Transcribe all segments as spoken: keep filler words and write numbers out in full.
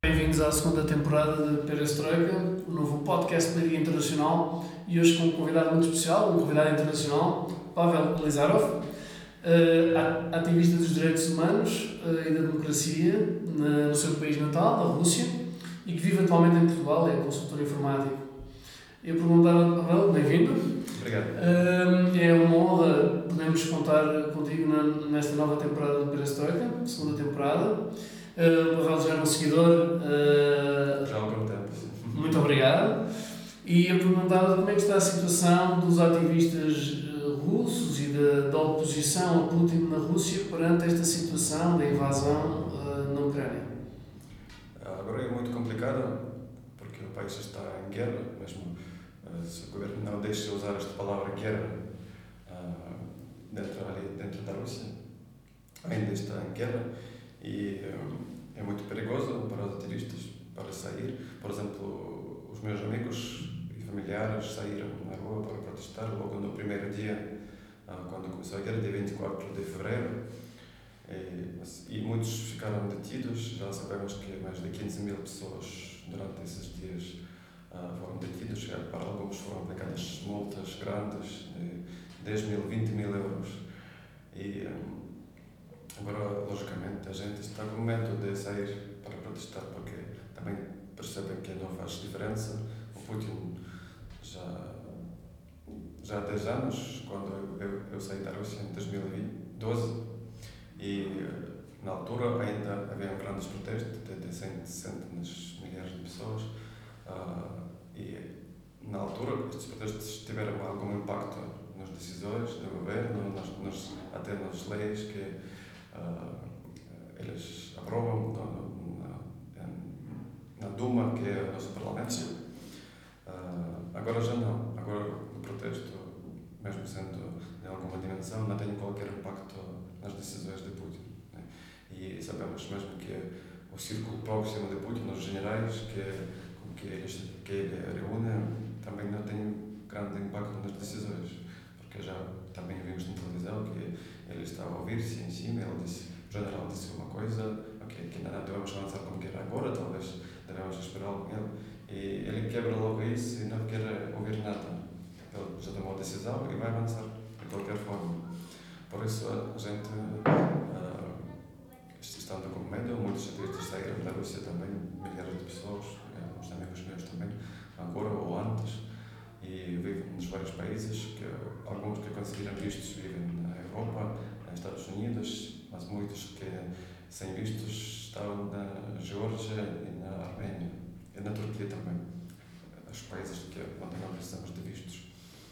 Bem-vindos à segunda temporada de Perestroika, o novo podcast Media Internacional, e hoje com um convidado muito especial, um convidado internacional, Pavel Elizarov, ativista dos direitos humanos e da democracia no seu país natal, a Rússia, e que vive atualmente em Portugal, é consultor informático. Eu perguntava, Pavel, bem-vindo. Obrigado. É uma honra podermos contar contigo nesta nova temporada de Perestroika, segunda temporada. O Pavel já é um seguidor. Uh, já há algum tempo. Muito obrigado. E eu perguntava como é que está a situação dos ativistas uh, russos e da, da oposição a Putin na Rússia perante esta situação da invasão uh, na Ucrânia. Agora é muito complicado porque o país está em guerra, mesmo uh, se o governo não deixa usar esta palavra guerra uh, dentro, ali, dentro da Rússia, ainda está em guerra. E um, é muito perigoso para os ativistas para sair. Por exemplo, os meus amigos e familiares saíram na rua para protestar logo no primeiro dia, uh, quando começou a guerra, dia vinte e quatro de fevereiro. E, e muitos ficaram detidos. Já sabemos que mais de quinze mil pessoas durante esses dias uh, foram detidos. Para alguns foram aplicadas multas grandes de dez mil, vinte mil euros. E, um, Agora, logicamente, a gente está com medo de sair para protestar porque também percebem que não faz diferença. O Putin já, já há dez anos, quando eu, eu, eu saí da Rússia em dois mil e doze, e na altura ainda havia grandes protestos de centenas de milhares de pessoas, uh, e na altura estes protestos tiveram algum impacto nas decisões do governo, nas, nas, até nas leis que Uh, eles aprovam na, na, na Duma, que é o nosso parlamento. Uh, agora já não. Agora o protesto, mesmo sendo de alguma dimensão, não tem qualquer impacto nas decisões de Putin, né? E sabemos mesmo que o círculo próximo de Putin, os generais que, com que, eles, que ele reúne, também não tem grande impacto nas decisões, porque já também vimos na televisão que ele estava a ouvir-se em cima. Ele disse, o general disse uma coisa, ok, que ainda não devemos avançar como quer agora, talvez devemos esperar com ele. E ele quebra logo isso e não quer ouvir nada. Ele já tomou a decisão e vai avançar de qualquer forma. Por isso a gente uh, estando com medo, muitos ativistas saíram da Rússia também, milhares de pessoas, uns amigos meus também, agora ou antes, e vivem nos vários países, que alguns que conseguiram vistos vivem na Europa, nos Estados Unidos, mas muitos que sem vistos estão na Geórgia e na Arménia, e na Turquia também, os países que onde não precisamos de vistos.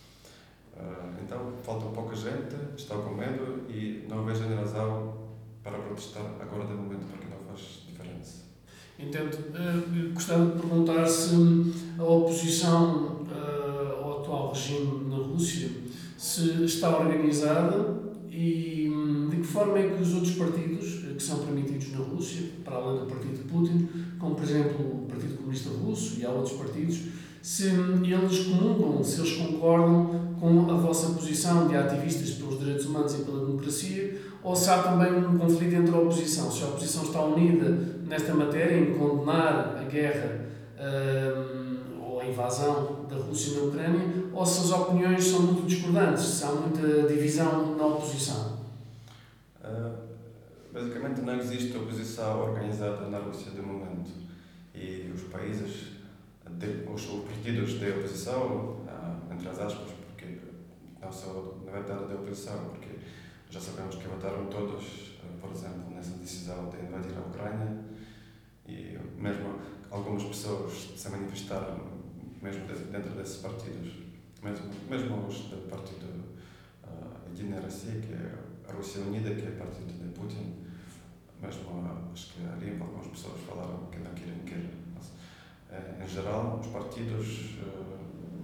Uh, então, falta pouca gente, está com medo e não vejo razão para protestar agora de momento, porque não faz diferença. Entendo. Uh, gostava de perguntar se a oposição uh, ao atual regime na Rússia se está organizada e de que forma é que os outros partidos que são permitidos na Rússia, para além do partido de Putin, como por exemplo o Partido Comunista Russo e há outros partidos, se eles comungam, se eles concordam com a vossa posição de ativistas pelos direitos humanos e pela democracia, ou se há também um conflito entre a oposição, se a oposição está unida nesta matéria em condenar a guerra um, ou a invasão da Rússia na Ucrânia, ou se as opiniões são muito discordantes, se há muita divisão na oposição? Uh, basicamente não existe oposição organizada na Rússia de momento, e os países, de, os, os partidos de oposição, uh, entre as aspas, porque não são na verdade de oposição, porque já sabemos que votaram todos, uh, por exemplo, nessa decisão de invadir a Ucrânia, e mesmo algumas pessoas se manifestaram mesmo dentro desses partidos, mesmo, mesmo os do partido uh, Единая Россия, que é a Rússia Unida, que é o partido de Putin, mesmo acho que ali algumas pessoas falaram que não querem guerra. Mas, uh, em geral, os partidos uh,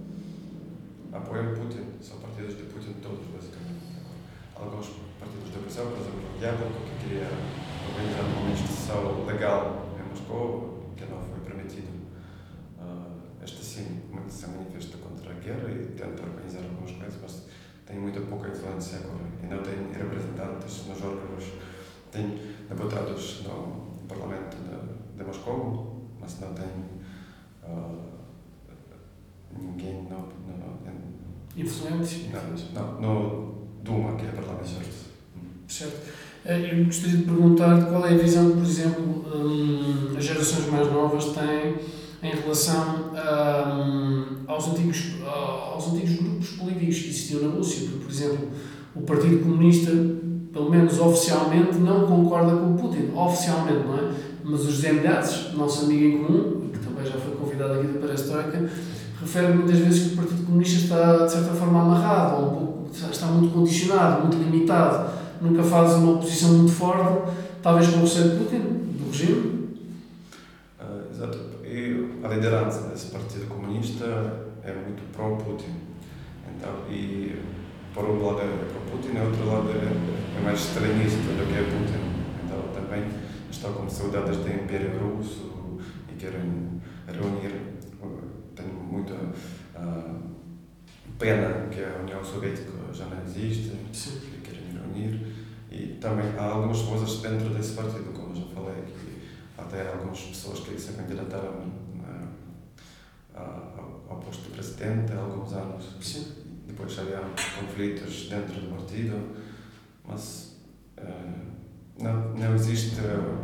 apoiam Putin, são partidos de Putin todos, basicamente. Alguns partidos de oposição, por exemplo, o Yabloko, que queria organizar uma manifestação legal em Moscou, que não foi permitido. Uh, este sim se manifesta contra a guerra e tenta organizar algumas coisas, mas tem muito pouca influência agora e não tem representantes nos órgãos, tem deputados no Parlamento de, de Moscou, mas não tem uh, ninguém no, no, no, influente? Não, no Duma, que é o Parlamento. Certo. Eu gostaria de perguntar qual é a visão que, por exemplo, hum, as gerações mais novas têm em relação hum, aos, antigos, aos antigos grupos políticos que existiam na Rússia. Porque, por exemplo, o Partido Comunista, pelo menos oficialmente, não concorda com o Putin. Oficialmente, não é? Mas os Zemlyazes, nosso amigo em comum, que também já foi convidado aqui da Perestroika, refere muitas vezes que o Partido Comunista está, de certa forma, amarrado, ou um pouco, está muito condicionado, muito limitado, nunca faz uma oposição muito forte, talvez com o receio de Putin, do regime. Uh, exato. E a liderança desse Partido Comunista é muito pró-Putin. Então, e por um lado é pró-Putin, e outro lado é, é mais extremista do que é Putin. Então também estão com saudades do Império Russo e querem reunir. Tenho muita uh, pena que a União Soviética já não existe, Sim. que querem reunir. E também há algumas coisas dentro desse partido, como já falei, que até algumas pessoas que se candidataram uh, ao, ao posto de presidente há alguns anos. Sim. Depois havia conflitos dentro do partido, mas uh, não, não existe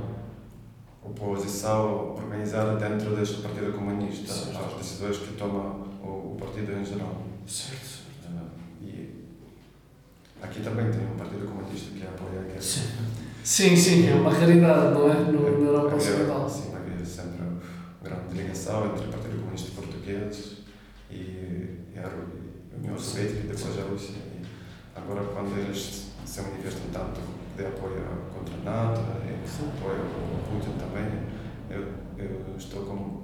oposição organizada dentro deste Partido Comunista, certo. às decisões que toma o, o partido em geral. Certo, certo. Uh, e aqui também tem um Partido Comunista que apoia a guerra. Sim. sim, sim, é uma raridade, não é? No, é, na Europa Ocidental. Sim, havia sempre uma grande ligação entre o Partido Comunista Português e, e a União Soviética e depois a Rússia. E agora, quando eles se manifestam tanto de apoio contra a NATO e apoio ao Putin também, eu, eu estou com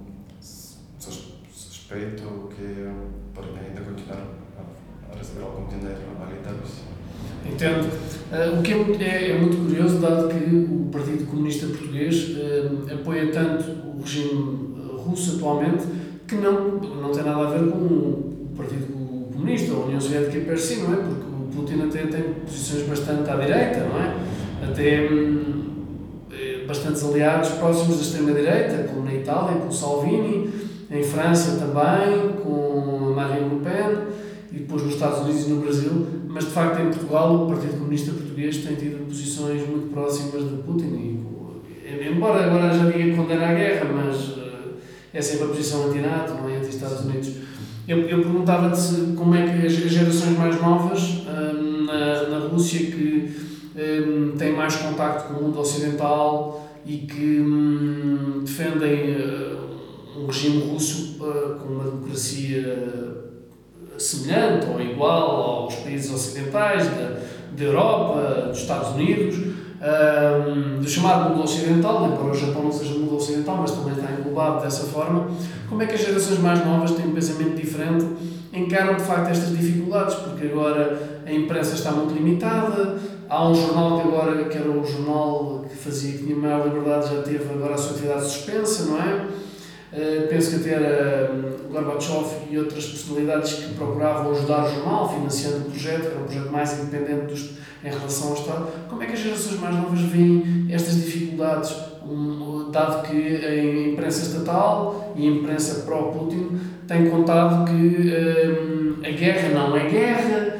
suspeito que podem ainda continuar a, a receber algum dinheiro ali da Rússia. Entendo. Uh, o que é muito, é, é muito curioso, dado que o Partido Comunista Português uh, apoia tanto o regime russo atualmente, que não, não tem nada a ver com o Partido Comunista ou a União Soviética per si, não é? Porque o Putin até tem posições bastante à direita, não é? Até hum, bastantes aliados próximos da extrema-direita, como na Itália, com o Salvini, em França também, com a Marine Le Pen, e depois nos Estados Unidos e no Brasil, mas de facto em Portugal o Partido Comunista Português tem tido posições muito próximas de Putin, e, embora agora já diga que condena a guerra, mas uh, é sempre a posição anti-NATO, não é? Anti-Estados Unidos. Eu, eu perguntava-te como é que as gerações mais novas uh, na, na Rússia, que uh, têm mais contacto com o mundo ocidental e que um, defendem uh, um regime russo uh, com uma democracia semelhante ou igual aos países ocidentais da, da Europa, dos Estados Unidos, um, do chamado mundo ocidental, embora o Japão não seja mundo ocidental, mas também está englobado dessa forma. Como é que as gerações mais novas têm um pensamento diferente, encaram de facto estas dificuldades? Porque agora a imprensa está muito limitada, há um jornal que agora, que era o jornal que fazia, que tinha maior liberdade, já teve agora a sua atividade suspensa, não é? Uh, penso que até era um, Gorbachev e outras personalidades que procuravam ajudar o jornal, financiando o projeto, que era um projeto mais independente dos, em relação ao Estado. Como é que as gerações mais novas veem estas dificuldades, um, dado que a imprensa estatal e a imprensa pró-Putin têm contado que um, a guerra não é guerra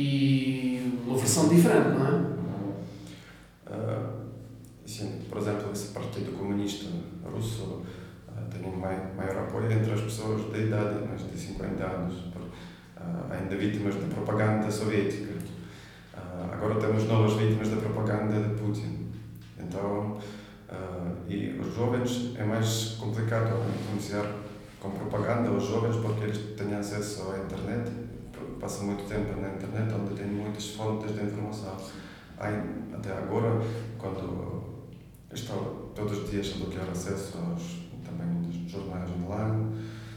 e uma versão diferente, não é? Uh, sim, por exemplo, esse Partido Comunista Russo tem um maior apoio entre as pessoas da idade, mais de cinquenta anos, por, uh, ainda vítimas da propaganda soviética. Uh, agora temos novas vítimas da propaganda de Putin. Então, uh, e os jovens é mais complicado influenciar com propaganda os jovens porque eles têm acesso à internet, passam muito tempo na internet, onde têm muitas fontes de informação. Até agora, quando estão todos os dias a bloquear acesso aos também dos jornais online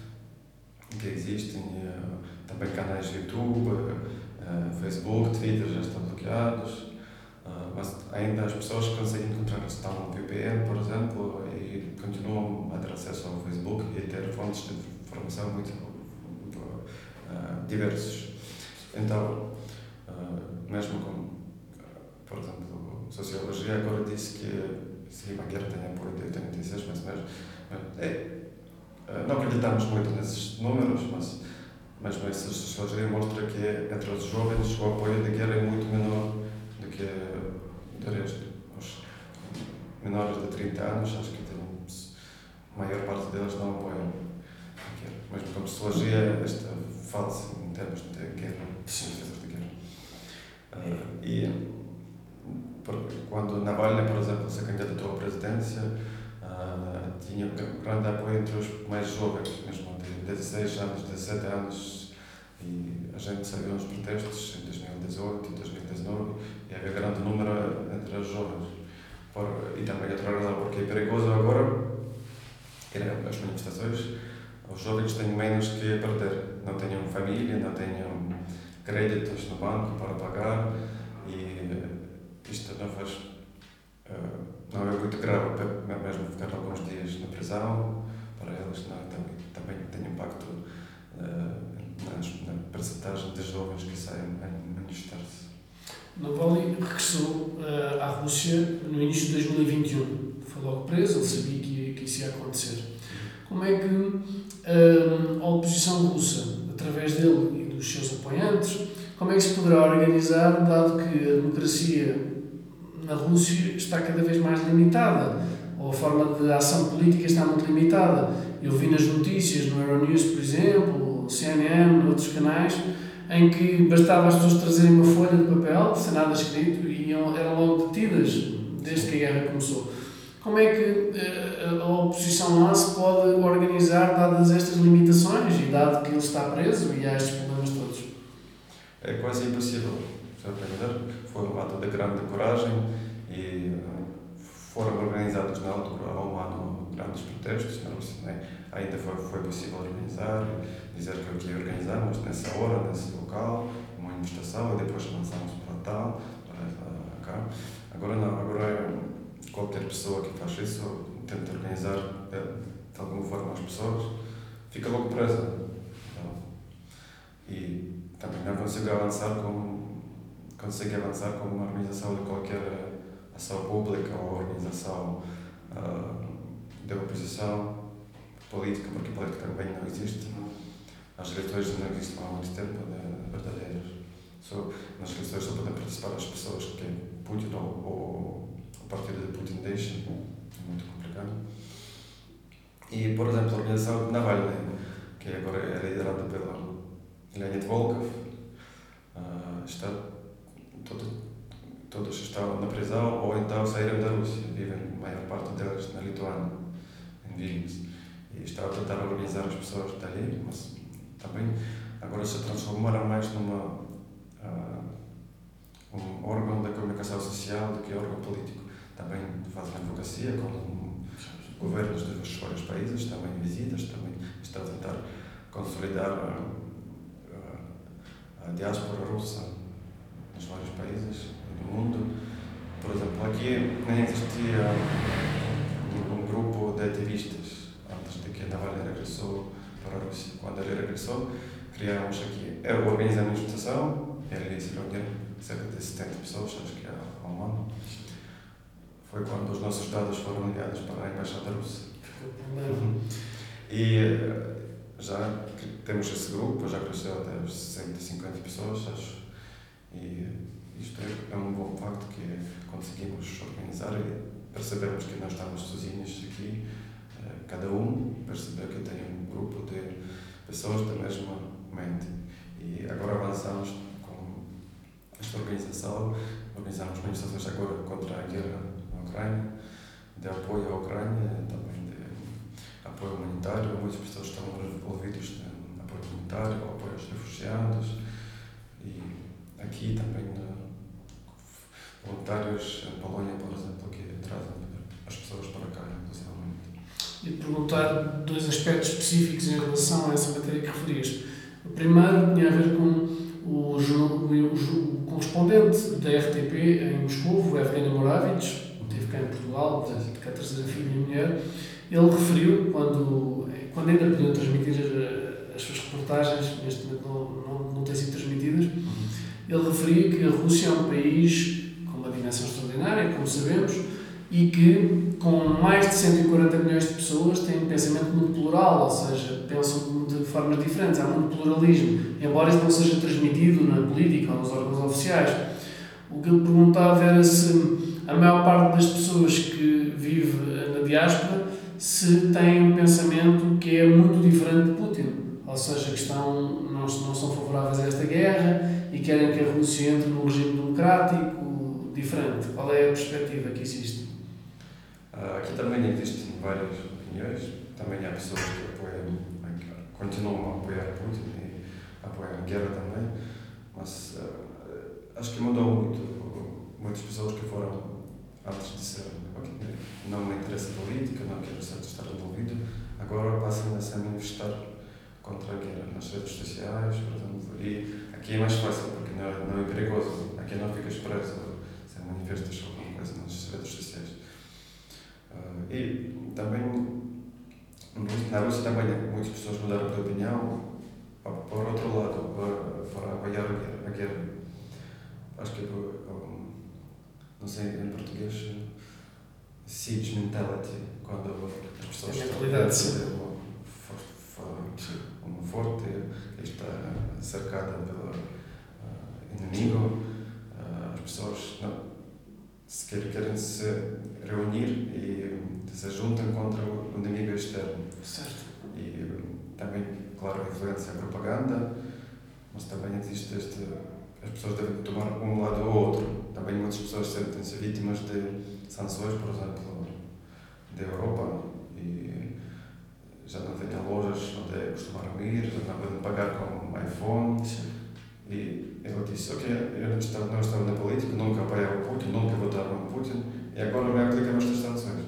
que existem, uh, também canais de YouTube, uh, Facebook, Twitter já estão bloqueados, uh, mas ainda as pessoas conseguem encontrar, estão no V P N, por exemplo, e continuam a ter acesso ao Facebook e ter fontes de informação muito, muito uh, diversas. Então, uh, mesmo com, por exemplo, Sociologia agora diz que sim, a guerra tem apoio de oitenta e seis, mais ou menos. É, não acreditamos muito nesses números, mas, mas, mas a sociologia mostra que entre os jovens o apoio da guerra é muito menor do que do resto. Os menores de trinta anos, acho que tem, a maior parte deles não apoiam a guerra. Mas como sociologia, esta fala-se em termos de guerra, de guerra. Uh, e quando Navalny, por exemplo, se candidatou à presidência, uh, tinha grande apoio entre os mais jovens, mesmo de dezesseis anos, dezessete anos, e a gente saiu nos protestos em dois mil e dezoito e dois mil e dezenove, e havia grande número entre os jovens. Por, e também outra razão, porque é perigoso agora, as manifestações, os jovens têm menos que perder, não tenham família, não tenham créditos no banco para pagar, e isto não faz, uh, não é muito grave, mesmo ficar alguns dias na prisão, para eles não, também, também tem impacto uh, nas, na percentagem de jovens que saem a manifestar-se. Navalny regressou uh, à Rússia no início de dois mil e vinte e um. Foi logo preso, ele sabia que, ia, que isso ia acontecer. Como é que uh, a oposição russa, através dele e dos seus apoiantes, como é que se poderá organizar, dado que a democracia na Rússia está cada vez mais limitada, ou a forma de ação política está muito limitada? Eu vi nas notícias, no Euronews, por exemplo, C N N, outros canais, em que bastava as pessoas trazerem uma folha de papel, sem nada escrito, e eram logo detidas, desde que a guerra começou. Como é que a oposição lá se pode organizar, dadas estas limitações, e dado que ele está preso e há estes problemas todos? É quase impossível. Foi um ato de grande coragem e foram organizados na altura, há um ano, grandes protestos na Rússia. Né? Ainda foi, foi possível organizar, dizer que o que organizamos nessa hora, nesse local, uma manifestação, e depois avançamos para tal, para cá. Agora não, agora é qualquer pessoa que faz isso, tenta organizar de alguma forma as pessoas, fica logo presa. Então, e também não consigo avançar com, consigo avançar com uma organização de qualquer ação pública ou organização uh, de oposição política, porque política também não existe. As eleições não existem há muito tempo, de verdadeiras. Só, nas eleições só podem participar as pessoas que Putin ou, ou o partido de Putin deixa, é muito complicado. E, por exemplo, a organização de Navalny, que agora é liderada pela Leonid Volkov, uh, está, todo, todos estão na prisão ou então saíram da Rússia, vivem a maior parte deles na Lituânia, em Vilnius, e está a tentar organizar as pessoas dali, mas também agora se transformaram mais numa uh, um órgão de comunicação social do que órgão político. Também fazem advocacia com governos dos vários países, também visitas, também está a tentar consolidar a, a, a diáspora russa nos vários países do mundo. Por exemplo, aqui nem existia um, um grupo de ativistas antes de que Navalny regressou para a Rússia. Quando ele regressou, criámos aqui, eu organizei a manifestação, ele se reuniu cerca de setenta pessoas, acho que há um ano. Foi quando os nossos dados foram enviados para a Embaixada Russa. Uhum. E já temos esse grupo, já cresceu até cento e cinquenta pessoas, acho. E isto é um bom facto que conseguimos organizar e percebemos que não estamos sozinhos aqui. Cada um percebeu que tem um grupo de pessoas da mesma mente. E agora avançamos com esta organização, organizamos manifestações agora contra a guerra na Ucrânia, de apoio à Ucrânia, também de apoio humanitário. Muitas pessoas estão envolvidas em apoio humanitário, apoio aos refugiados, e aqui também voluntários em Polónia, por exemplo, que trazem as pessoas para cá, inclusive. E perguntar dois aspectos específicos em relação a essa matéria que referias. O primeiro tinha a ver com o, o, o correspondente da R T P em Moscou, o Evgeny Moravich, que esteve cá em Portugal, de cá a terceira filha e mulher. Ele referiu, quando, quando ainda podiam transmitir as suas reportagens, neste momento não, não, não têm sido transmitidas, ele referia que a Rússia é um país com uma dimensão extraordinária, como sabemos, e que, com mais de cento e quarenta milhões de pessoas, têm um pensamento muito plural, ou seja, pensam de formas diferentes, há muito pluralismo, embora isso não seja transmitido na política ou nos órgãos oficiais. O que ele perguntava era se a maior parte das pessoas que vive na diáspora se têm um pensamento que é muito diferente de Putin, ou seja, que estão, não, não são favoráveis a esta guerra e querem que a Rússia entre num regime democrático diferente. Qual é a perspectiva que existe? Aqui também existem várias opiniões, também há pessoas que apoiam, continuam a apoiar Putin e apoiam a guerra também, mas uh, acho que mudou muito. Muitas pessoas que foram antes de ser, okay, não me interessa política, não quero estar envolvido, agora passam a se manifestar contra a guerra nas redes sociais, por exemplo, e aqui é mais fácil porque não é, não é perigoso, aqui não ficas preso se manifestas alguma coisa nas redes sociais. Uh, e também na Rússia também muitas pessoas mudaram de opinião por outro lado, para, para apoiar a guerra, a guerra. Acho que um, não sei em português, siege mentality, quando as pessoas estão dentro de um forte que está cercada pelo uh, inimigo, uh, as pessoas não, se querem, querem se reunir e se juntam contra o inimigo externo. Certo. E também, claro, a influência da propaganda, mas também existe este. As pessoas devem tomar um lado ou outro. Também muitas pessoas sentem-se vítimas de sanções, por exemplo, da Europa, e já não têm lojas onde costumaram ir, já não podem pagar com um iPhone. Sim. E eu disse, ok, eu não estava, não estava na política, nunca apoiava o Putin, nunca votava no Putin, e agora me aplicar estas sanções.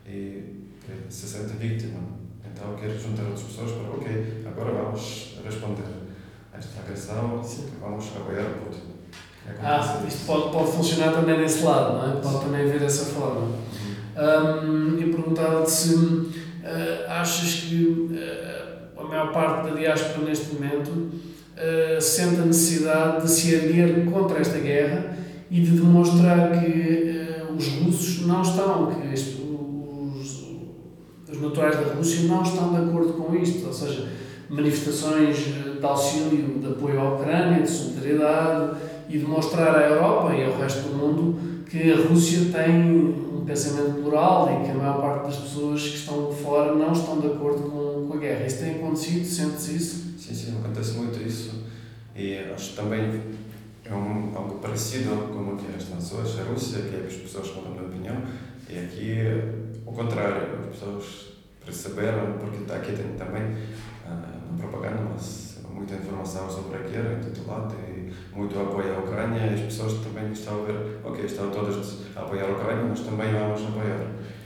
E se sente vítima. Então eu quero juntar outras pessoas para, ok, agora vamos responder a esta agressão, sim, vamos apoiar o Putin. É ah, isto pode, pode funcionar também desse lado, não é? Pode sim. também haver dessa forma. Uhum. Um, e perguntava-te se uh, achas que uh, a maior parte da diáspora neste momento uh, sente a necessidade de se erguer contra esta guerra e de demonstrar que uh, os russos não estão, que este, os, os naturais da Rússia não estão de acordo com isto, ou seja, manifestações de auxílio, de apoio à Ucrânia, de solidariedade e demonstrar à Europa e ao resto do mundo que a Rússia tem um pensamento plural e que a maior parte das pessoas que estão de fora não estão de acordo com, com a guerra. Isso tem acontecido? Sente-se isso? Sim, sim, acontece muito isso. E acho que também é um, algo parecido com o que as nações, a Rússia, que é as pessoas mudam de opinião, e aqui, ao contrário, as pessoas perceberam, porque aqui tem também uh, propaganda, mas muita informação sobre a guerra em todo lado e muito apoio à Ucrânia, e as pessoas também estão a ver, ok, estão todas a apoiar a Ucrânia, mas também vamos apoiar.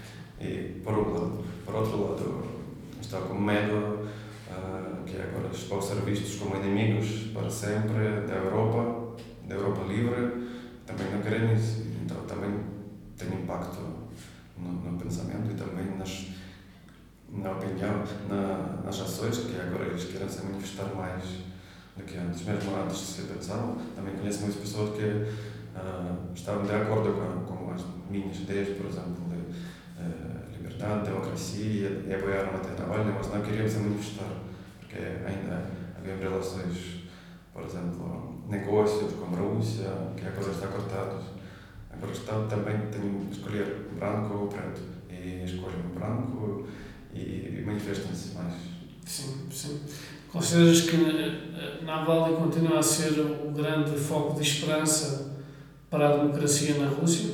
E por um lado, por outro lado, estão com medo uh, que agora vão ser vistos como inimigos para sempre da Europa, da Europa livre, também não querem isso, então também tem impacto no, no pensamento e também nas na opinião, na, nas ações, que agora eles querem se manifestar mais do que antes, mesmo antes de se pensavam. Também conheço muitas pessoas que uh, estavam de acordo com, com as minhas ideias, por exemplo, de uh, liberdade, democracia, e apoiaram até na Navalny, mas não queriam se manifestar, porque ainda havia relações, por exemplo, negócios com a Rússia, que agora está cortado. Agora está, também tem que escolher branco ou preto, e escolhem o branco e manifestam-se mais. Sim, sim. Consideras que Navalny continua a ser o grande foco de esperança para a democracia na Rússia?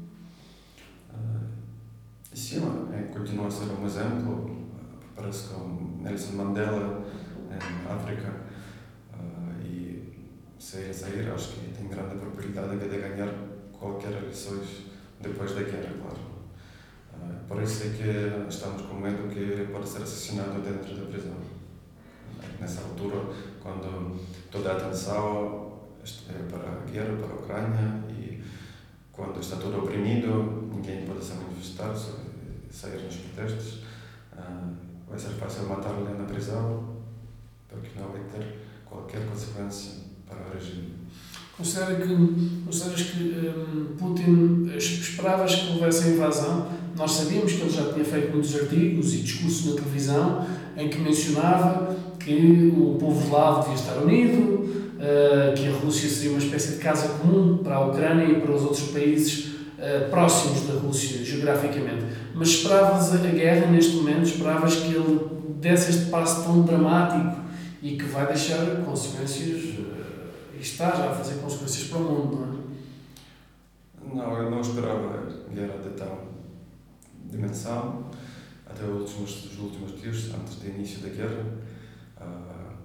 Uh, sim, é, continua a ser um exemplo. Parece que Nelson Mandela em África uh, e sair a sair, acho que tem grande probabilidade de ganhar qualquer eleições depois da guerra, claro. Por isso é que estamos com medo que ele pode ser assassinado dentro da prisão. Nessa altura, quando toda a atenção é para a guerra, para a Ucrânia, e quando está todo oprimido, ninguém pode se manifestar, sair nos protestos, vai ser fácil matar-lhe na prisão, porque não vai ter qualquer consequência para o regime. Considera que, consideras que um, Putin, esperavas que houvesse a invasão? Nós sabíamos que ele já tinha feito muitos artigos e discursos na televisão em que mencionava que o povo eslavo devia estar unido, uh, que a Rússia seria uma espécie de casa comum para a Ucrânia e para os outros países uh, próximos da Rússia, geograficamente. Mas esperavas a guerra neste momento? Esperavas que ele desse este passo tão dramático e que vai deixar consequências, uh, e está já a fazer consequências para o mundo, não é? Não, eu não esperava guerra de tal dimensão, até os últimos, os últimos dias, antes do início da guerra. Uh,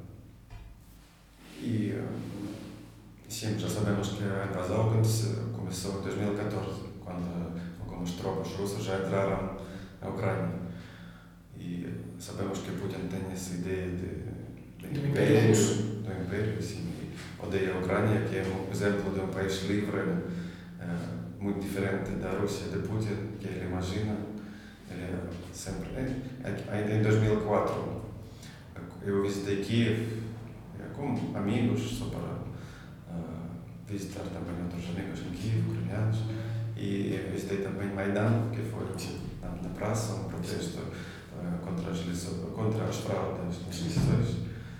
e uh, sim, já sabemos que a invasão começou em dois mil e catorze, quando algumas tropas russas já entraram na Ucrânia. E sabemos que Putin tem essa ideia de, de império, do império, assim, e odeia a Ucrânia, que é um exemplo de um país livre, uh, muito diferente da Rússia de Putin, que ele imagina. Ele é sempre, ainda em dois mil e quatro, eu visitei Kiev como amigos, só para uh, visitar também outros amigos em Kiev, ucranianos, e visitei também Maidan, que foi na, na praça, um protesto uh, contra, as contra as fraudes nas eleições.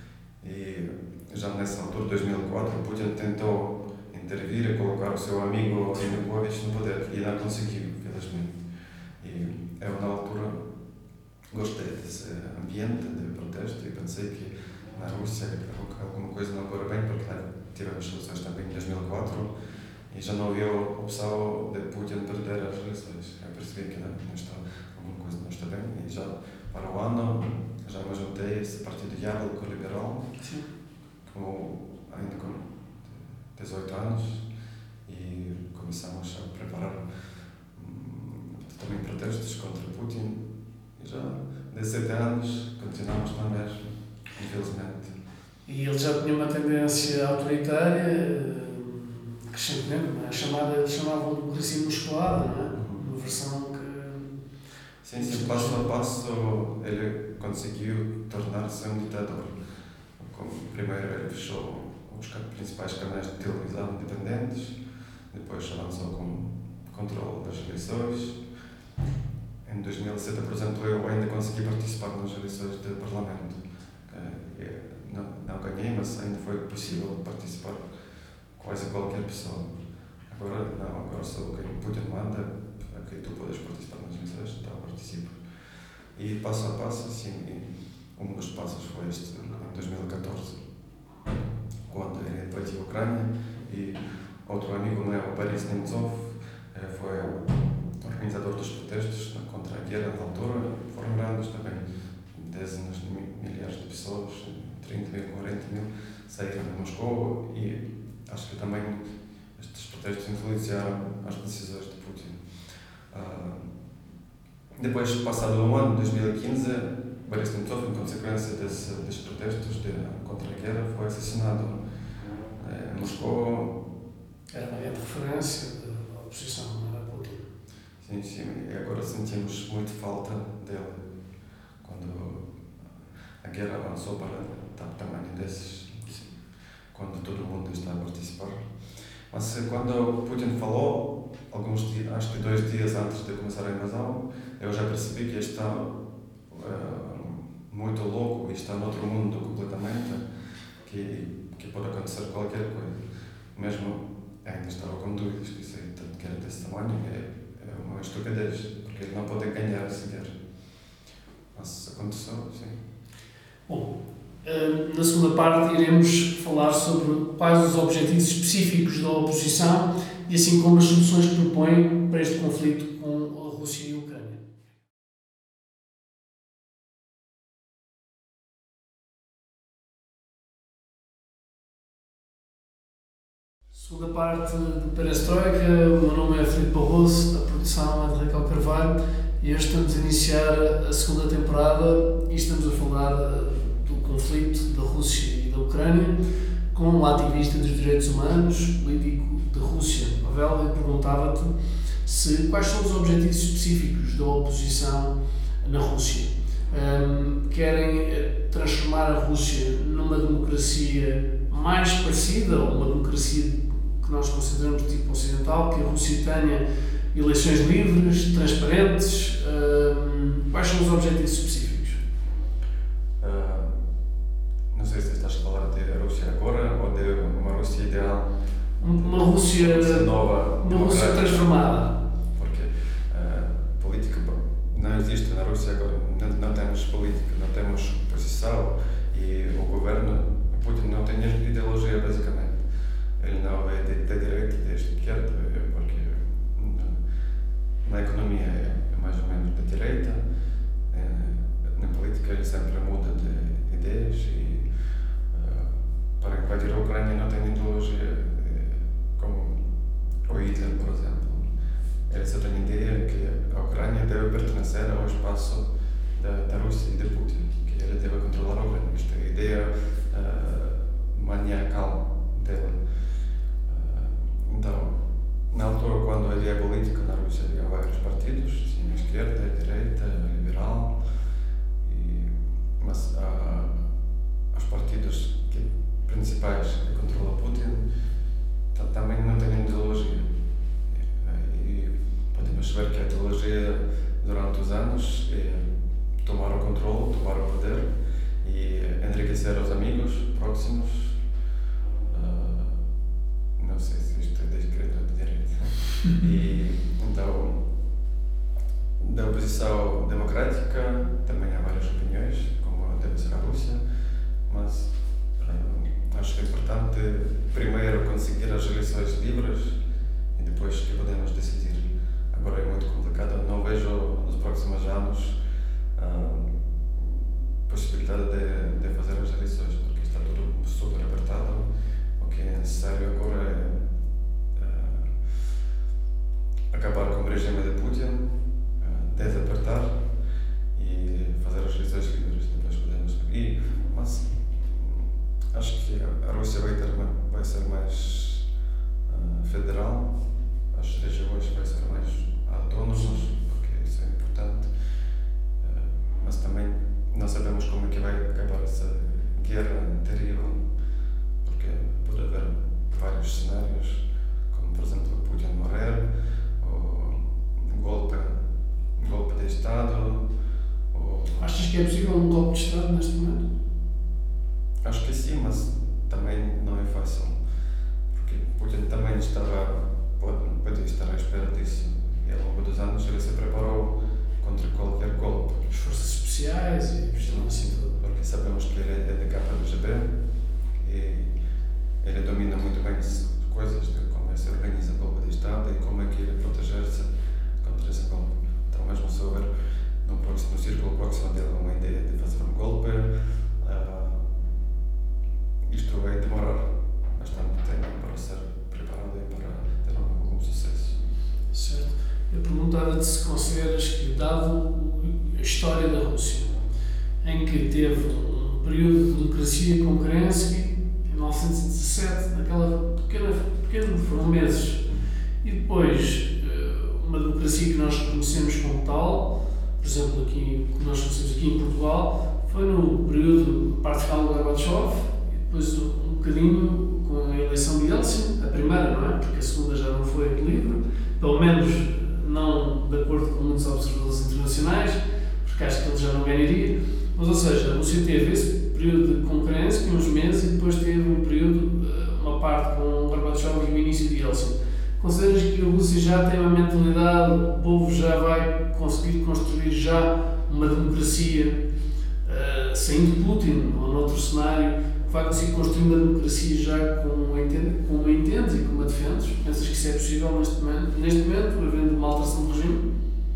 E já nessa altura, dois mil e quatro, Putin tentou intervir e colocar o seu amigo Yanukovych no poder, e não conseguiu, felizmente. E eu, na altura, gostei desse ambiente de protesto e pensei que na Rússia alguma coisa não corre bem, porque lá tivemos eleições também em dois mil e quatro e já não havia opção de Putin perder as eleições. Eu percebi que não, não está, alguma coisa não está bem, e já para o ano já me juntei a esse partido Yabloko liberal, com, ainda com dezoito anos, e começamos a preparar hum, também protestos contra Putin, e já dezessete anos continuamos na mesma, infelizmente. E ele já tinha uma tendência autoritária, crescentemente, não é? Chamada, eles chamavam de democracia musculada, não é? Uma versão que... Sim, sim, passo a passo ele conseguiu tornar-se um ditador. Como, primeiro ele fechou os principais canais de televisão independentes, depois avançou com o controle das eleições. Em dois mil e sete, por exemplo, eu ainda consegui participar nas eleições do Parlamento. Não, não ganhei, mas ainda foi possível participar quase qualquer pessoa. Agora não, agora sou quem Putin manda, aqui tu podes participar nas eleições, então participo. E passo a passo, assim, um dos passos foi este, em dois mil e catorze, quando ele invadiu a Ucrânia, e outro amigo meu, Boris Nemtsov, foi o organizador dos protestos contra a guerra na altura. Foram grandes também, dezenas de milhares de pessoas, trinta mil, quarenta mil, saíram de Moscou, e acho que também estes protestos influenciaram as decisões de Putin. Uh, depois, passado um ano, dois mil e quinze, Boris Nemtsov, em consequência desse, desses protestos de, contra a guerra, foi assassinado uh, em Moscou. Era uma grande referência da oposição, não era Putin? Sim, sim, e agora sentimos muito falta dele, quando a guerra avançou para o tamanho desses, quando todo mundo está a participar. Mas quando Putin falou, alguns dias, acho que dois dias antes de começar a invasão, eu já percebi que está uh, muito louco e está noutro mundo completamente, que, que pode acontecer qualquer coisa. Mesmo ainda estava com dúvidas que isso era desse tamanho, é, é uma estupidez, porque ele não pode ganhar essa guerra. Mas aconteceu, sim. Bom, na segunda parte iremos falar sobre quais os objetivos específicos da oposição e assim como as soluções que propõe para este conflito com a Rússia e a Ucrânia. Segunda parte de Perestroika, o meu nome é Filipe Barroso, a produção é de Raquel Carvalho, e hoje estamos a iniciar a segunda temporada e estamos a falar do conflito da Rússia e da Ucrânia com um ativista dos direitos humanos, político da Rússia. Pavel, eu perguntava-te se, quais são os objetivos específicos da oposição na Rússia. Um, querem transformar a Rússia numa democracia mais parecida ou uma democracia que nós consideramos de tipo ocidental, que a Rússia tenha eleições livres, transparentes? Uh, quais são os objetivos específicos? Uh, não sei se estás a falar de a Rússia agora ou de uma Rússia ideal. Uma Rússia nova, uma Rússia transformada. Porque uh, política não existe na Rússia agora. Não, não temos política, não temos oposição e o governo, Putin não tem ideologia basicamente. Ele não é de, de direita, de esquerda, porque na economia é mais ou menos de direita, na política ele sempre muda de ideias e uh, para invadir a Ucrânia não tem ideologia como o Hitler, por exemplo. Ele só tem a ideia que a Ucrânia deve pertencer ao espaço da, da Rússia e de Putin, que ele deve controlar a Ucrânia. Esta é a ideia uh, maniacal dele. Uh, então, na altura, quando havia política na Rússia, havia vários partidos, assim, a esquerda, a direita, a liberal, e, mas uh, os partidos que, principais que controlam Putin também não têm ideologia. E podemos ver que a ideologia durante os anos é tomar o controle, tomar o poder e enriquecer os amigos próximos. Uh, não sei se isto é de esquerda ou de direita. E então, da oposição democrática também há várias opiniões, como deve ser a Rússia, mas acho que é importante primeiro conseguir as eleições livres e depois que podemos decidir. Agora é muito complicado, não vejo nos próximos anos a possibilidade de, de fazer as eleições, porque está tudo super apertado. O que é necessário agora é uh, acabar com o regime de Putin, uh, desapertar e fazer as eleições livres, depois podemos. E, mas, acho que a Rússia vai, ter, vai ser mais uh, federal, as regiões vai ser mais autônomas, porque isso é importante, uh, mas também não sabemos como é que vai acabar essa guerra terrível, porque pode haver vários cenários, como por exemplo Putin morrer, ou golpe, golpe de Estado. Ou... Achas que é possível um golpe de Estado neste momento? Acho que sim, mas também não é fácil, porque Putin também estava, pode, pode estar à espera disso, e ao longo dos anos ele se preparou contra qualquer golpe. As forças especiais e estão assim tudo. Porque sabemos que ele é de K G B e ele domina muito bem as coisas de como é que se organiza o golpe de Estado e como é que ele proteger-se contra esse golpe. Então, mesmo se houver no, próximo, no círculo próximo dele uma ideia de fazer um golpe, uh, isto vai demorar bastante tempo para ser preparado e para ter algum sucesso. Certo. Eu perguntava-te se consideras que, dado a história da Rússia, em que teve um período de democracia com Kerensky, em mil novecentos e dezassete, naquela pequena, pequena foram meses, e depois uma democracia que nós reconhecemos como tal, por exemplo, aqui, que nós conhecemos aqui em Portugal, foi no período de parte final do Gorbachev, depois um bocadinho com a eleição de Yeltsin, a primeira, não é? Porque a segunda já não foi livre, pelo menos não de acordo com muitos observadores internacionais, porque acho que ele já não ganharia. Mas, ou seja, a Rússia teve esse período de concorrência, uns meses, e depois teve um período, uma parte com o Gorbachev e o início de Yeltsin. Consideras que a Rússia já tem uma mentalidade, o povo já vai conseguir construir já uma democracia, uh, saindo de Putin ou noutro cenário, vai conseguir construir uma democracia já como a entendes e como a defendes? Pensas que isso é possível neste momento, neste momento havendo uma alteração do regime?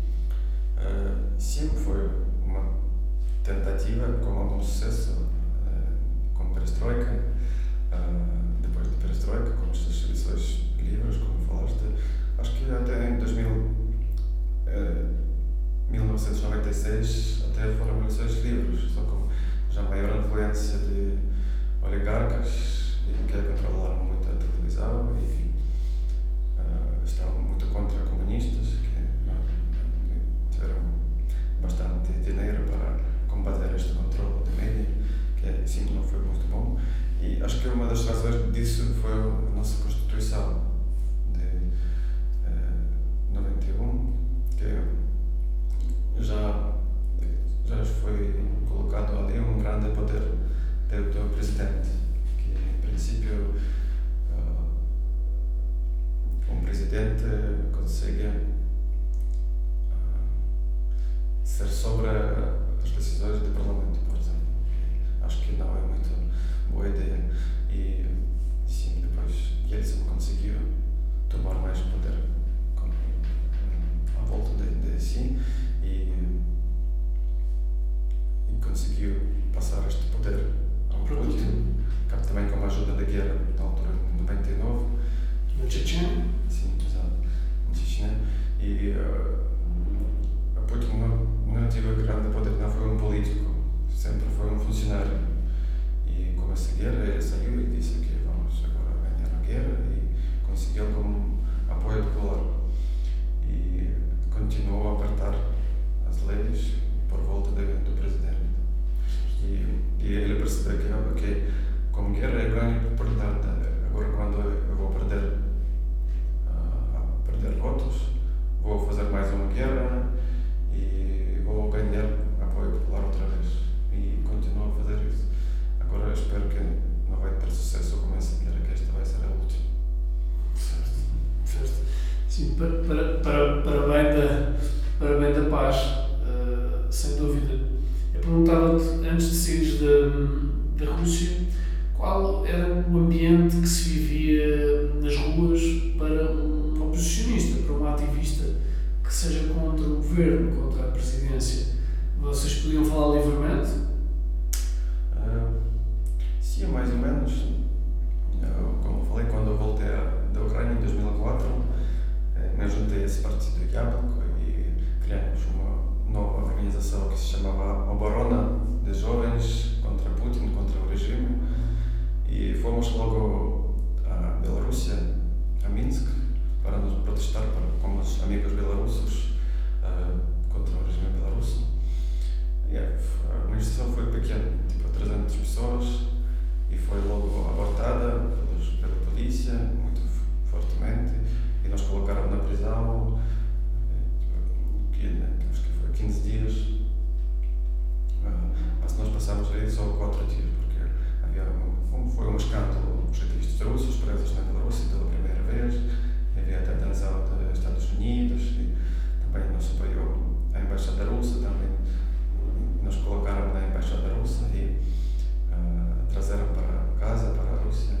Uh, sim, foi uma tentativa com algum sucesso, uh, com Perestroika, uh, depois de Perestroika, com estas eleições livres, como falaste, acho que até em dois mil, uh, mil novecentos e noventa e seis até foram eleições livres, só com já maior influência de oligarcas e que controlaram muito a televisão e uh, estavam muito contra comunistas que uh, tiveram bastante dinheiro para combater este controle de mídia, que sim, não foi muito bom. E acho que uma das razões disso foi a nossa Constituição. princípio, uh, um presidente consegue uh, ser sobre as decisões do Parlamento, por exemplo. Acho que não é muito boa ideia. E, sim, depois Yeltsin conseguiu tomar mais poder com, à volta de, de si e, e conseguiu passar este poder ao Putin, também com a ajuda da guerra na altura de noventa e nove. Na Chechênia? Sim, exato. Na Chechênia. E uh, a Putin não, não teve grande poder, não foi um político, sempre foi um funcionário. E com essa guerra ele saiu e disse que vamos agora ganhar a guerra e conseguiu como apoio popular. E continuou a apertar as leis por volta de, do presidente. E, e ele percebeu que, que como guerra eu ganho popularidade. Agora quando eu vou perder, uh, perder votos, vou fazer mais uma guerra e vou ganhar apoio popular outra vez. E continuo a fazer isso. Agora eu espero que não vai ter sucesso com essa guerra, que esta vai ser a última. Certo, certo. Sim, para, para, para, para, bem, da, para bem da paz, uh, sem dúvida. Eu perguntava-te, antes de saíres da, da Rússia, qual era o ambiente que se vivia nas ruas para um oposicionista, para um ativista que seja contra o governo, contra a presidência? Vocês podiam falar livremente? Uh, sim, mais ou menos. Eu, como falei, quando eu voltei da Ucrânia em dois mil e quatro, me juntei a esse partido Яблоко e criamos uma nova organização que se chamava Oborona de Jovens contra Putin, contra o regime. E fomos logo à Bielorrússia, a Minsk, para nos protestar para, com os amigos belarussos uh, contra o regime belarusso. E a manifestação foi pequena, tipo trezentas pessoas, e foi logo abortada pelos, pela polícia, muito fortemente, e nos colocaram na prisão, que acho que foi quinze dias, uh, mas nós passamos aí só quatro dias, porque havia um, foi um escândalo, os ativistas russos presos na Bielorrússia pela primeira vez, e havia até tensão dos Estados Unidos, e também nos apoiou a embaixada russa, também nos colocaram na embaixada russa e uh, trazeram para casa, para a Rússia.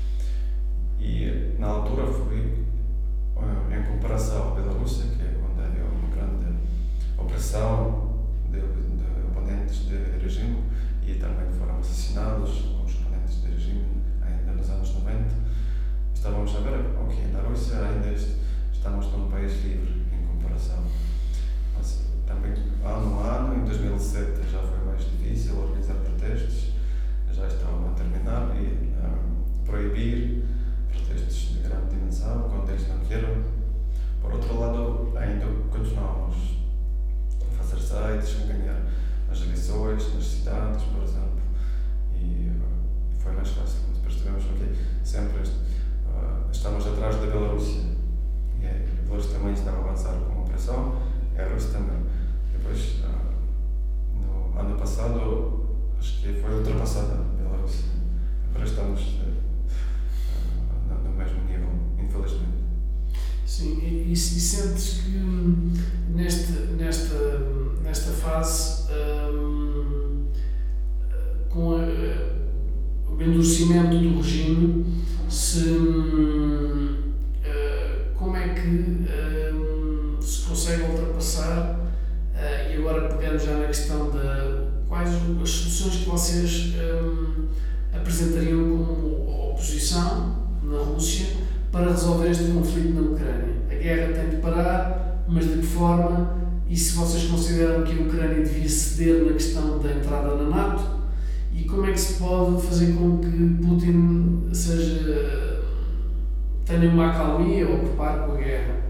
E na altura foi, uh, em comparação à Bielorrússia, que é onde havia uma grande opressão de, de oponentes do regime, e também foram assassinados os oponentes do regime ainda nos anos noventa, estávamos a ver, ok, na Rússia ainda estamos num país livre em comparação. Mas também, ano a ano, em dois mil e sete já foi mais difícil organizar protestos, já estavam a terminar, e um, proibir protestos de grande dimensão, quando eles não queiram. Por outro lado, ainda continuamos a fazer sites, a ganhar as eleições nas cidades, por exemplo, e uh, foi mais fácil. Depois tivemos que sempre uh, estamos atrás da Bielorrússia, e a Bielorrússia também estava a avançar com a opressão, e a Rússia também. Depois, uh, no ano passado, acho que foi ultrapassada a Bielorrússia. Agora estamos uh, uh, no mesmo nível, infelizmente. Sim, e, e, e sentes que hum, neste, nesta, nesta fase, hum, com a, o endurecimento do regime, se, hum, uh, como é que hum, se consegue ultrapassar, uh, e agora pegando já na questão de quais as soluções que vocês hum, apresentariam como oposição na Rússia para resolver este conflito na Ucrânia? A guerra tem de parar, mas de que forma? E se vocês consideram que a Ucrânia devia ceder na questão da entrada na NATO? E como é que se pode fazer com que Putin seja, tenha uma acalmia ou prepare com a guerra?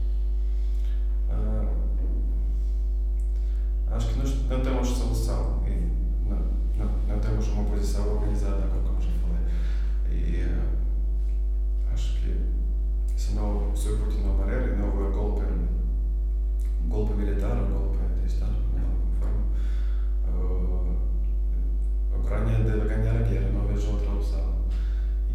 Uh, acho que nós não temos solução e não, não, não temos uma posição organizada, como já falei. E uh, acho que se, não, se o Putin não parar e não houver golpe, um golpe militar, um golpe de Estado, de alguma forma, uh, a Ucrânia deve ganhar a guerra, não vejo outra opção.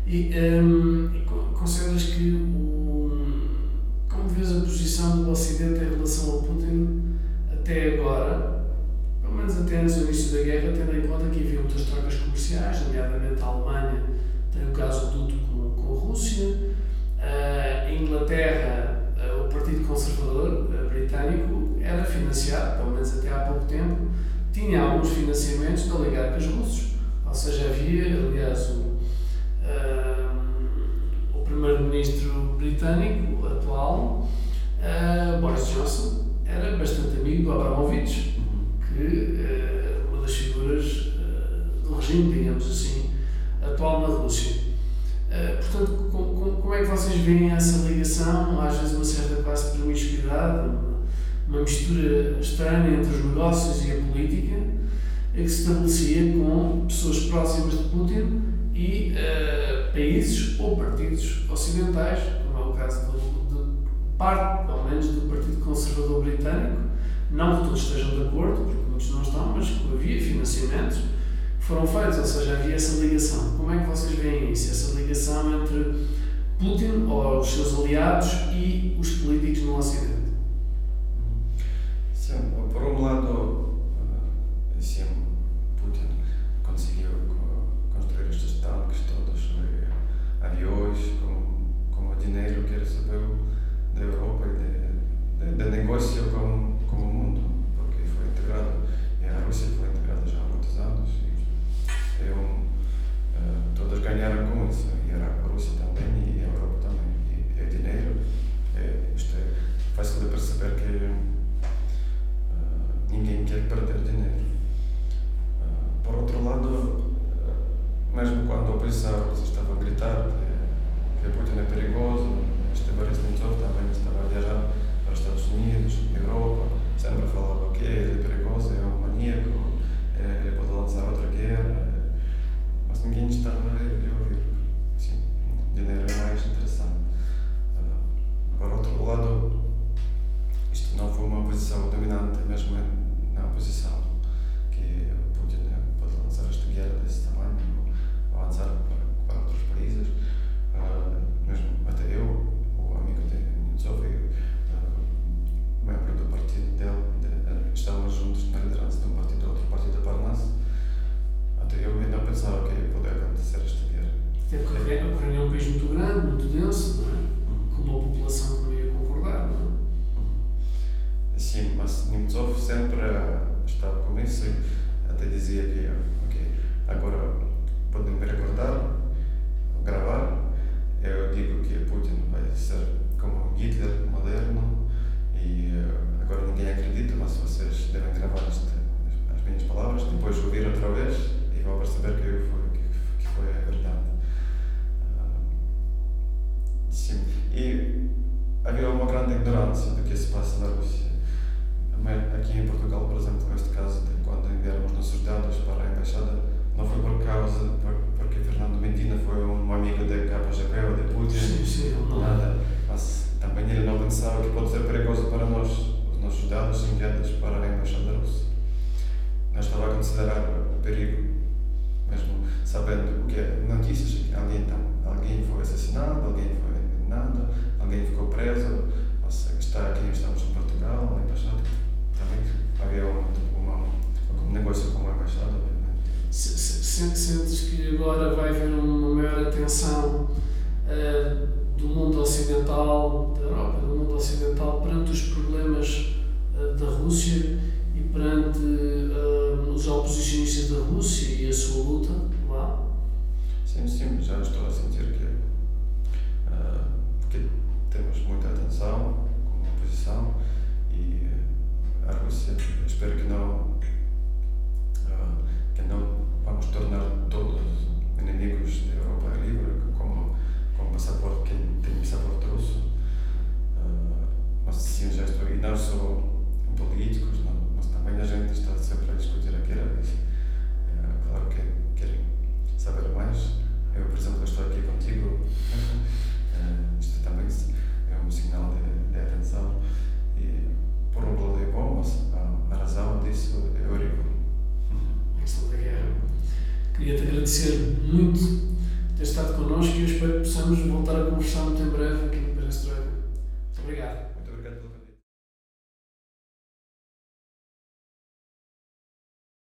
E, um, e consideras que, o, como vês a posição do Ocidente em relação ao Putin até agora, pelo menos até antes do início da guerra, tendo em conta que havia muitas trocas comerciais, nomeadamente a Alemanha tem o gasoduto com, com a Rússia, a Inglaterra, o Partido Conservador britânico era financiado, pelo menos até há pouco tempo, tinha alguns financiamentos de oligarcas russos, ou seja, havia, aliás, o, uh, o primeiro-ministro britânico atual, uh, Boris Johnson, era bastante amigo do Abramovich, que é uh, uma das figuras uh, do regime, digamos assim, atual na Rússia. Uh, portanto, com, com, como é que vocês veem essa ligação, às vezes uma certa quase promiscuidade, uma, uma mistura estranha entre os negócios e a política, que se estabelecia com pessoas próximas de Putin e uh, países ou partidos ocidentais, como é o caso de, de parte, pelo menos, do Partido Conservador Britânico, não que todos estejam de acordo, porque muitos não estão, mas que havia financiamentos que foram feitos, ou seja, havia essa ligação. Como é que vocês veem isso, essa ligação entre Putin ou os seus aliados e os políticos no Ocidente? Sim, por um lado, sim, Putin conseguiu construir estes tanques todos, aviões, com, com o dinheiro que recebeu da Europa e de, de, de negócio com, com o mundo, porque foi integrado, e a Rússia foi integrada já há muitos anos, e é um, uh, todos ganharam com isso, e a Rússia também, e a Europa também, e, e dinheiro, é, isto é fácil de perceber que uh, ninguém quer perder dinheiro. Uh, por outro lado, uh, mesmo quando a oposição estava a gritar que, que Putin é perigoso, este Boris Nemtsov também estava a viajar para os Estados Unidos, Europa, sempre falava que ele é perigoso, é um maníaco, é, ele pode lançar outra guerra, mas ninguém estava a ouvir. Sim, dinheiro é mais interessante. Uh, por outro lado, isto não foi uma posição dominante, mesmo na oposição, que Putin pode lançar esta guerra desse tamanho, ou avançar para, para outros países. Uh, mesmo até eu, o amigo de Nemtsov, uh, membro do partido dele, de, uh, estávamos juntos na liderança de um partido, outro partido da Parnas. Até eu ainda pensava que poderia acontecer esta guerra. Até porque a Ucrânia é um país muito grande, muito denso, não é? Com uma população que não ia concordar, não é? Sim, mas Nemtsov sempre estava com isso e até dizia que, ok, agora podem me recordar, gravar. Eu digo que Putin vai ser como Hitler moderno e uh, agora ninguém acredita, mas vocês devem gravar este, as minhas palavras, depois ouvir outra vez e vão perceber que foi, que, que foi a verdade. Uh, sim, e havia uma grande ignorância do que se passa na Rússia. Aqui em Portugal, por exemplo, neste caso de quando enviamos nossos dados para a embaixada, não foi por causa, por, porque Fernando Medina foi um amigo da K G B ou de Putin, sim, sim, nada, mas também ele não pensava que pode ser perigoso para nós, os nossos dados enviados para a embaixada russa. Não estava a considerar o perigo, mesmo sabendo o que é notícias, que alguém, alguém foi assassinado, alguém foi envenenado, alguém ficou preso, mas está aqui, estamos em Portugal, na embaixada, também havia um, uma, um negócio com a embaixada, obviamente. Sentes que agora vai haver uma maior atenção uh, do mundo ocidental, da Europa, do mundo ocidental, perante os problemas uh, da Rússia e perante uh, os oposicionistas da Rússia e a sua luta lá? Sim, sim, já estou a sentir que uh, porque temos muita atenção como oposição e a Rússia, espero que não uh, que não vamos tornar todos inimigos da Europa livre como, como passaporte, quem tem passaporte russo, uh, mas sim, já estou, e não só políticos, não, mas também a gente está sempre a discutir a guerra, e, uh, claro que querem saber mais. Eu, por exemplo, estou aqui contigo, uh, isto também é um sinal de, de atenção, e por um lado é bom, mas a, a razão disso é horrível. A questão da guerra. Queria-te agradecer muito ter estado connosco e eu espero que possamos voltar a conversar muito em breve aqui no Perestroika. Muito obrigado.